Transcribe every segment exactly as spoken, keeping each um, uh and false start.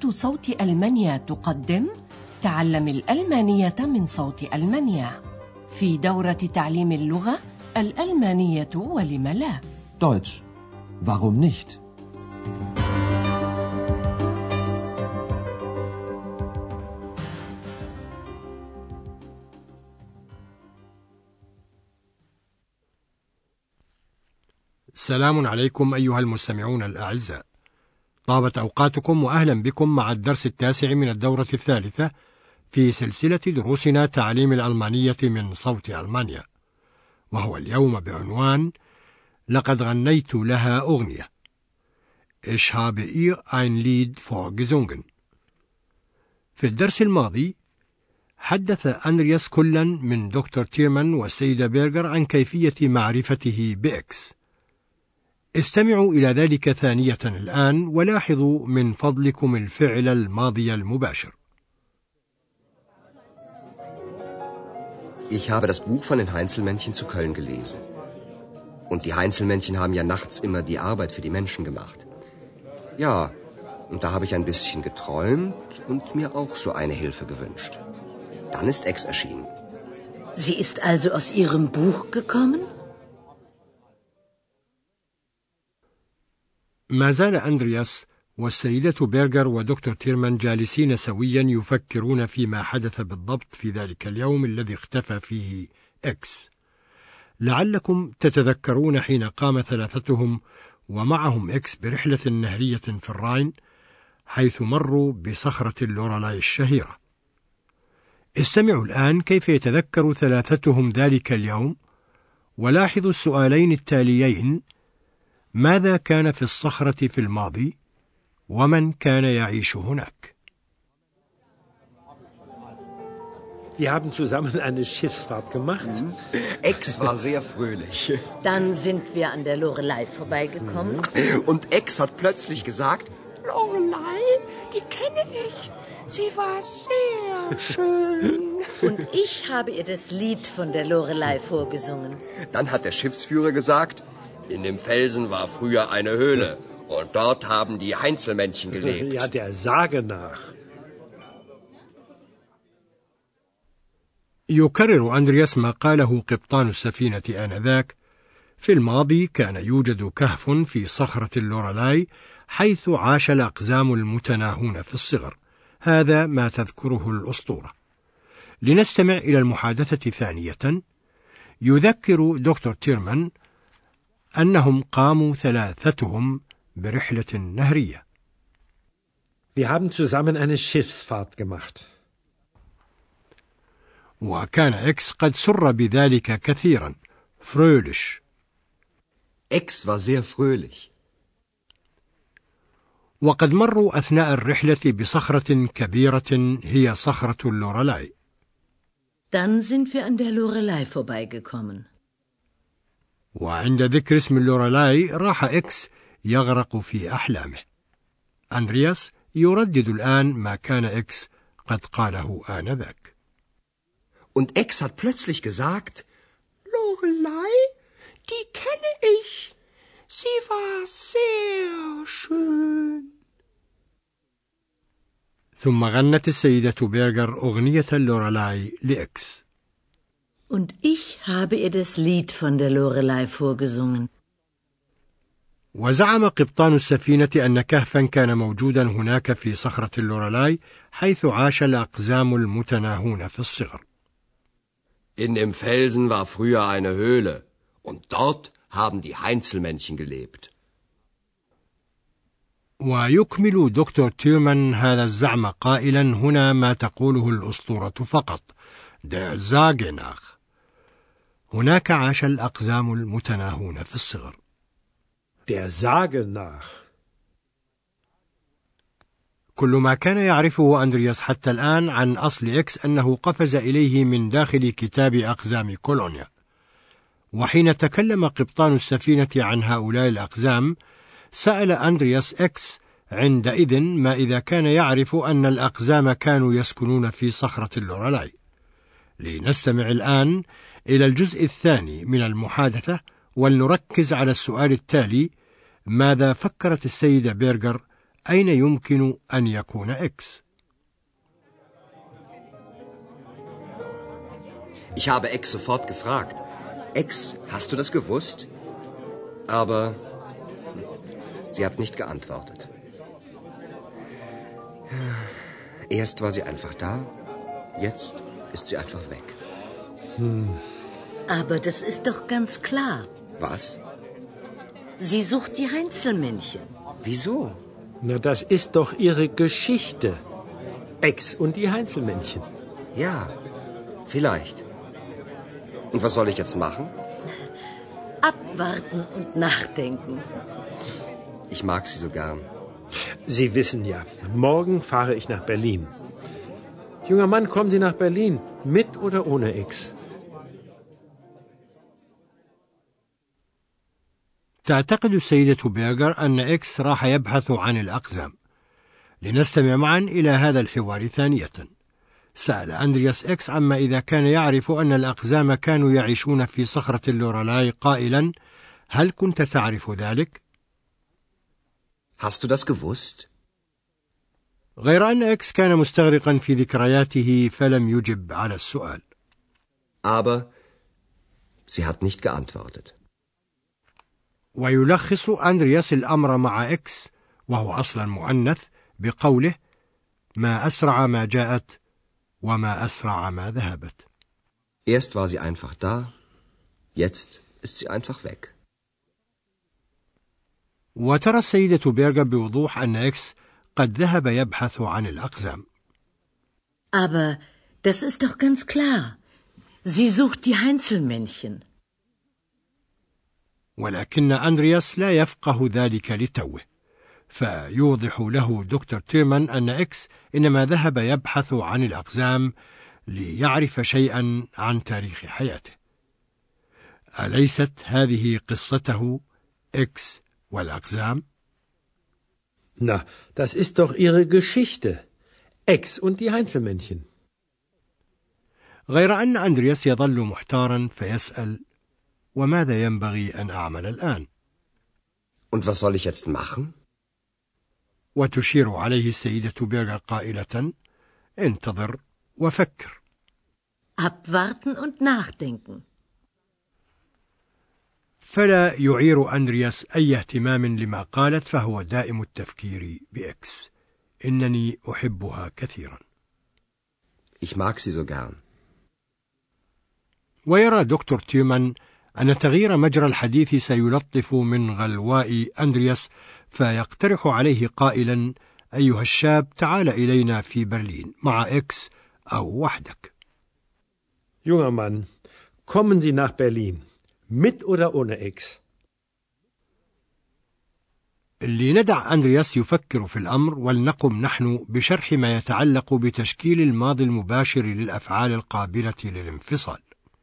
إذاعة صوت ألمانيا تقدم تعلم الألمانية من صوت ألمانيا في دورة تعليم اللغة الألمانية ولم لا. Deutsch. Warum nicht? السلام عليكم أيها المستمعون الأعزاء. طابت أوقاتكم وأهلا بكم مع الدرس التاسع من الدورة الثالثة في سلسلة دروسنا تعليم الألمانية من صوت ألمانيا، وهو اليوم بعنوان لقد غنيت لها أغنية. Ich habe ihr ein Lied vorgesungen. في الدرس الماضي حدث أندرياس كلا من دكتور تيرمان والسيدة بيرغر عن كيفية معرفته بإكس. استمعوا إلى ذلك ثانية الآن ولاحظوا من فضلكم الفعل الماضي المباشر. Ich habe das Buch von den Heinzelmännchen zu Köln gelesen. Und die Heinzelmännchen haben ja nachts immer die Arbeit für die Menschen gemacht. Ja, und da habe ich ein bisschen geträumt und mir auch so eine Hilfe gewünscht. Dann ist Ex erschienen. Sie ist also aus ihrem Buch gekommen? ما زال أندرياس والسيدة بيرغر ودكتور تيرمان جالسين سويا يفكرون فيما حدث بالضبط في ذلك اليوم الذي اختفى فيه إكس. لعلكم تتذكرون حين قام ثلاثتهم ومعهم إكس برحلة نهرية في الراين حيث مروا بصخرة اللورالاي الشهيرة. استمعوا الآن كيف يتذكر ثلاثتهم ذلك اليوم، ولاحظوا السؤالين التاليين: ماذا كان في الصخرة في الماضي؟ ومن كان يعيش هناك؟ Wir haben zusammen eine Schiffsfahrt gemacht. Mhm. Ex war sehr fröhlich. Dann sind wir an der Lorelei vorbeigekommen. Und Ex hat plötzlich gesagt, Lorelei, die kenne ich. Sie war sehr schön. Und ich habe ihr das Lied von der Lorelei vorgesungen. Dann hat der Schiffsführer gesagt, in dem Felsen war früher eine Höhle und dort haben die Heinzelmännchen gelebt. Ja, der Sage nach. يكرر أندرياس ما قاله قبطان السفينة آنذاك: في الماضي كان يوجد كهف في صخرة اللورالاي حيث عاش الأقزام المتناهون في الصغر. هذا ما تذكره الأسطورة. لنستمع إلى المحادثة ثانية. يذكر دكتور تيرمان أنهم قاموا ثلاثتهم برحلة نهرية. Wir haben zusammen eine Schiffsfahrt gemacht. وكان إكس قد سر بذلك كثيرا. fröhlich. Ex war sehr fröhlich. وقد مروا أثناء الرحلة بصخرة كبيرة هي صخرة اللورالاي. Dann sind wir an der Lorelei vorbeigekommen. وعند ذكر اسم اللورالاي راح إكس يغرق في أحلامه. أندرياس يردد الآن ما كان إكس قد قاله آنذاك. Und Ex hat plötzlich gesagt, Lorelei, die kenne ich. Sie war sehr schön. ثم غنت السيدة بيرغر أغنية اللورالاي لإكس. Und ich habe ihr das Lied von der Lorelei vorgesungen. وزعم قبطان السفينة أن كهفا كان موجودا هناك في صخرة اللورالاي حيث عاش الأقزام المتناهون في الصغر. in dem Felsen war früher eine Höhle und dort haben die Heinzelmännchen gelebt. ويكمل دكتور تيرمان هذا الزعم قائلا: هنا ما تقوله الأسطورة فقط. der Sage nach. هناك عاش الأقزام المتناهون في الصغر. Der Sage nach. كل ما كان يعرفه أندرياس حتى الآن عن أصل إكس أنه قفز إليه من داخل كتاب أقزام كولونيا. وحين تكلم قبطان السفينة عن هؤلاء الأقزام سأل أندرياس إكس عندئذ ما إذا كان يعرف أن الأقزام كانوا يسكنون في صخرة اللورالاي. لنستمع الآن إلى الجزء الثاني من المحادثة ولنركز على السؤال التالي: ماذا فكرت السيدة بيرغر أين يمكن أن يكون إكس؟ Ich habe Ex sofort gefragt. Ex, hast du das gewusst? Aber sie hat nicht geantwortet. Erst war sie einfach da, jetzt ist sie einfach weg. Hm. Aber das ist doch ganz klar. Was? Sie sucht die Heinzelmännchen. Wieso? Na, das ist doch ihre Geschichte. Ex und die Heinzelmännchen. Ja, vielleicht. Und was soll ich jetzt machen? Abwarten und nachdenken. Ich mag sie so gern. Sie wissen ja, morgen fahre ich nach Berlin. Junger Mann, kommen Sie nach Berlin, mit oder ohne Ex? تعتقد السيدة بيرغر أن إكس راح يبحث عن الأقزام. لنستمع معا إلى هذا الحوار ثانية. سأل أندرياس إكس عما إذا كان يعرف أن الأقزام كانوا يعيشون في صخرة اللورالاي قائلا: هل كنت تعرف ذلك؟ Hast du das gewusst? غير أن إكس كان مستغرقا في ذكرياته فلم يجب على السؤال. Aber sie hat nicht geantwortet. ويلخص أندرياس الأمر مع إكس وهو أصلا مؤنث بقوله: ما أسرع ما جاءت وما أسرع ما ذهبت. Erst war sie einfach da, jetzt ist sie einfach weg. وترى السيدة بيرغر بوضوح أن إكس قد ذهب يبحث عن الأقزام. Aber das ist doch ganz klar. Sie sucht die Heinzelmännchen. ولكن أندرياس لا يفقه ذلك لتوه، فيوضح له دكتور تيرمان أن إكس إنما ذهب يبحث عن الأقزام ليعرف شيئا عن تاريخ حياته. أليست هذه قصته إكس والأقزام؟ Na, das ist doch ihre Geschichte. Ex und die Heinzelmännchen. غير أن أندرياس يظل محتارا فيسأل: وماذا ينبغي أن أعمل الآن؟ Und was soll ich jetzt machen? وتشير عليه السيدة بيرغر قائلة: انتظر وفكر. Abwarten und nachdenken. فلا يعير أندرياس أي اهتمام لما قالت، فهو دائم التفكير بإكس. إنني أحبها كثيرا. Ich mag sie so gern. ويرى دكتور تيرمان أن تغيير مجرى الحديث سيلطف من غلواء أندرياس، فيقترح عليه قائلا: أيها الشاب، تعال إلينا في برلين مع إكس أو وحدك. Junger Mann, kommen Sie nach Berlin, mit oder ohne Ex? لندع أندرياس يفكر في الأمر ولنقم نحن بشرح ما يتعلق بتشكيل الماضي المباشر للأفعال القابلة للانفصال.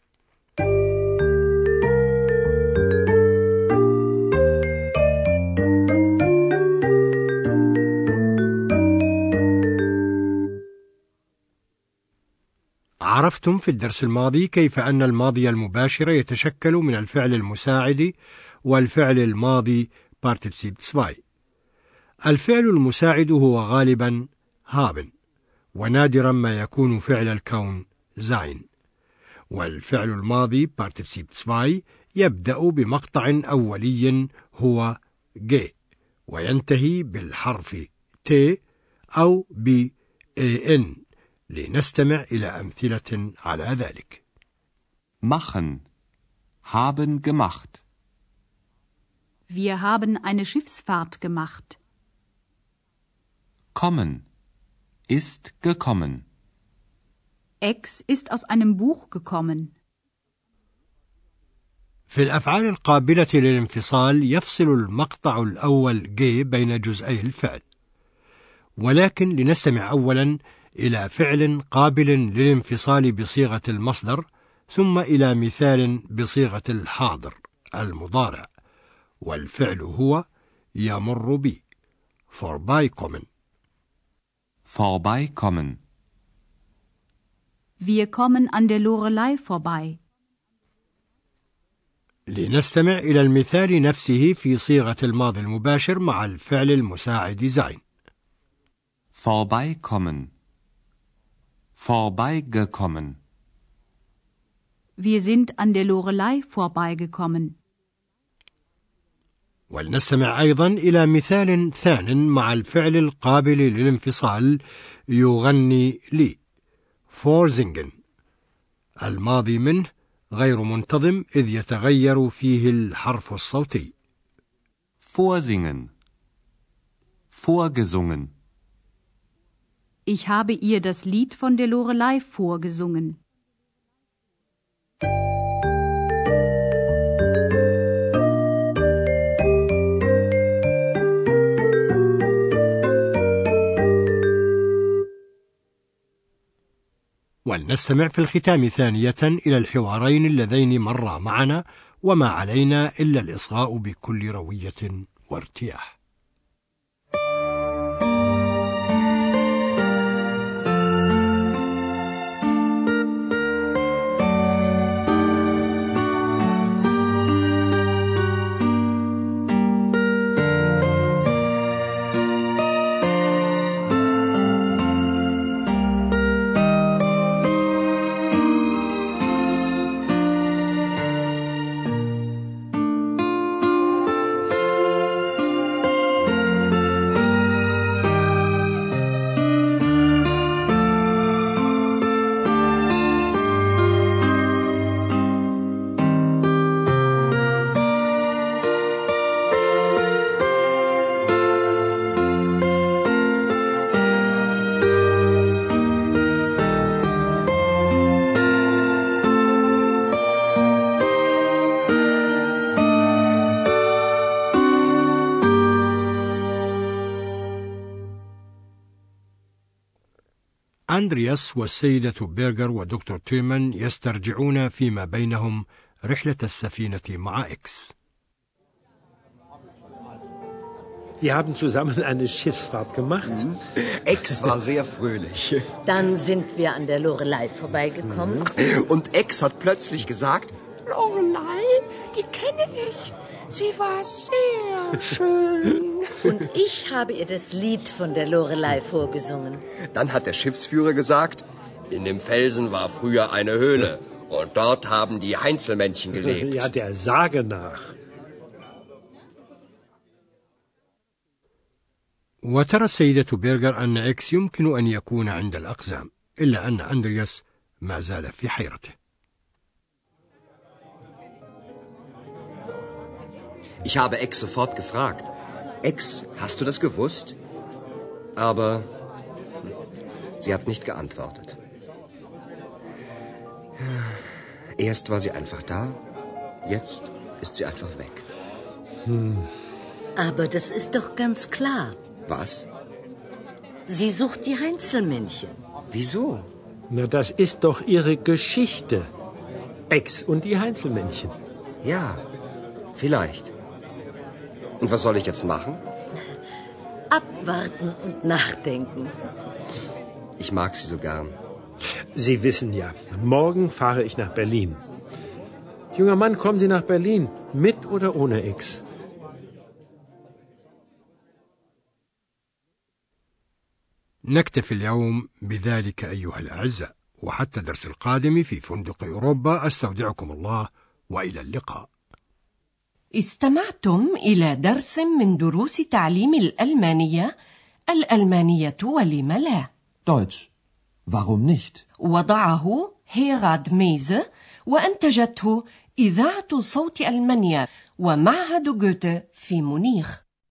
عرفتم في الدرس الماضي كيف أن الماضي المباشر يتشكل من الفعل المساعد والفعل الماضي Partizip zwei. الفعل المساعد هو غالبا haben، ونادرا ما يكون فعل الكون sein. والفعل الماضي Partizip zwei يبدأ بمقطع أولي هو ge، وينتهي بالحرف t أو ب an. لنستمع إلى أمثلة على ذلك. Machen. Haben gemacht. Wir haben eine Schiffsfahrt gemacht. Kommen. Ist gekommen. Ex ist aus einem Buch gekommen. في الأفعال القابلة للانفصال يفصل المقطع الأول G بين جزئي الفعل، ولكن لنستمع أولا إلى فعل قابل للانفصال بصيغة المصدر، ثم إلى مثال بصيغة الحاضر المضارع، والفعل هو يمر بي vorbeikommen. Vorbeikommen. Wir kommen an der Lorelei vorbei. لنستمع إلى المثال نفسه في صيغة الماضي المباشر مع الفعل المساعد sein. vorbeikommen, vorbeigekommen. Wir sind an der Lorelei vorbeigekommen. ولنستمع أيضا إلى مثال ثان مع الفعل القابل للانفصال يغني لي vorsingen. الماضي منه غير منتظم إذ يتغير فيه الحرف الصوتي. Vorsingen, vorgesungen. Ich habe ihr das Lied von der Lorelei vorgesungen. ولنستمع في الختام ثانية إلى الحوارين اللذين مرا معنا وما علينا إلا الإصغاء بكل روية وارتياح. أندرياس والسيدة بيرغر ودكتور تيرمان يسترجعون فيما بينهم رحلة السفينة مع إكس. Wir haben zusammen eine Schiffsfahrt gemacht. Mhm. Ex war sehr fröhlich. Dann sind wir an der Lorelei vorbeigekommen. Mhm. Und Ex hat plötzlich gesagt, Lorelei, die kenne ich. Sie war sehr schön. Und ich habe ihr das Lied von der Lorelei vorgesungen. Dann hat der Schiffsführer gesagt, in dem Felsen war früher eine Höhle und dort haben die Heinzelmännchen gelebt. Ja, der Sage nach. وترى السيدة بيرغر أن إكس يمكن أن يكون عند الأقزام، إلا أن أندرياس ما زال في حيرته. Ich habe Ex sofort gefragt. Ex, hast du das gewusst? Aber sie hat nicht geantwortet. Erst war sie einfach da, jetzt ist sie einfach weg. Hm. Aber das ist doch ganz klar. Was? Sie sucht die Heinzelmännchen. Wieso? Na, das ist doch ihre Geschichte. Ex und die Heinzelmännchen. Ja, vielleicht. Und was soll ich jetzt machen? Abwarten und nachdenken. Ich mag sie so gern. Sie wissen ja, morgen fahre ich nach Berlin. Junger Mann, kommen Sie nach Berlin, mit oder ohne Ex? نكتفي اليوم بذلك أيها الأعزاء، وحتى الدرس القادم في فندق أوروبا أستودعكم الله وإلى اللقاء. استمعتم إلى درس من دروس تعليم الألمانية الألمانية ولم لا Deutsch. Warum nicht? وضعه هيراد ميزه وأنتجته إذاعة صوت ألمانيا ومعهد جوته في مونيخ.